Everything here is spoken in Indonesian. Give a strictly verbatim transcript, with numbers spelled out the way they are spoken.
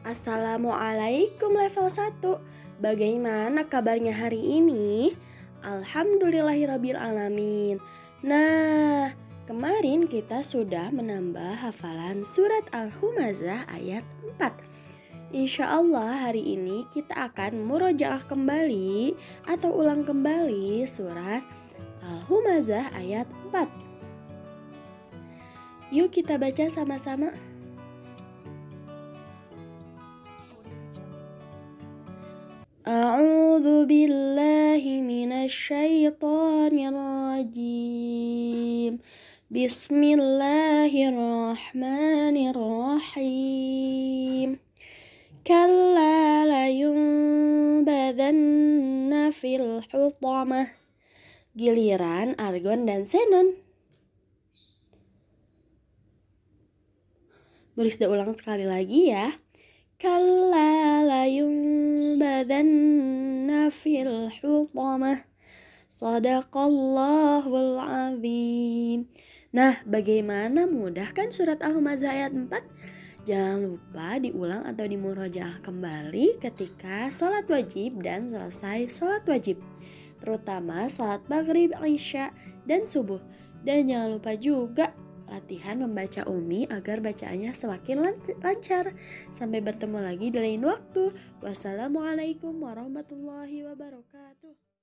Assalamualaikum level satu. Bagaimana kabarnya hari ini? Alhamdulillahirrabbilalamin. Nah, kemarin kita sudah menambah hafalan surat Al-Humazah ayat empat. Insya Allah hari ini kita akan murojaah kembali atau ulang kembali surat Al-Humazah ayat empat. Yuk kita baca sama-sama. A'udzu billahi minasy syaithanir rajim. Bismillahirrahmanirrahim. Kalla layunbadanna fil hutamah. Giliran argon dan xenon. Berisda ulang sekali lagi ya. Kalla layunbadanna fil hutamah. Shadaqallahul azim. Nah, bagaimana, mudah kan surat Al-Humazah ayat empat? Jangan lupa diulang atau dimurojaah kembali ketika sholat wajib dan selesai sholat wajib, terutama sholat maghrib, isya, dan subuh. Dan jangan lupa juga latihan membaca Umi agar bacaannya semakin lancar. Sampai bertemu lagi di lain waktu. Wassalamualaikum warahmatullahi wabarakatuh.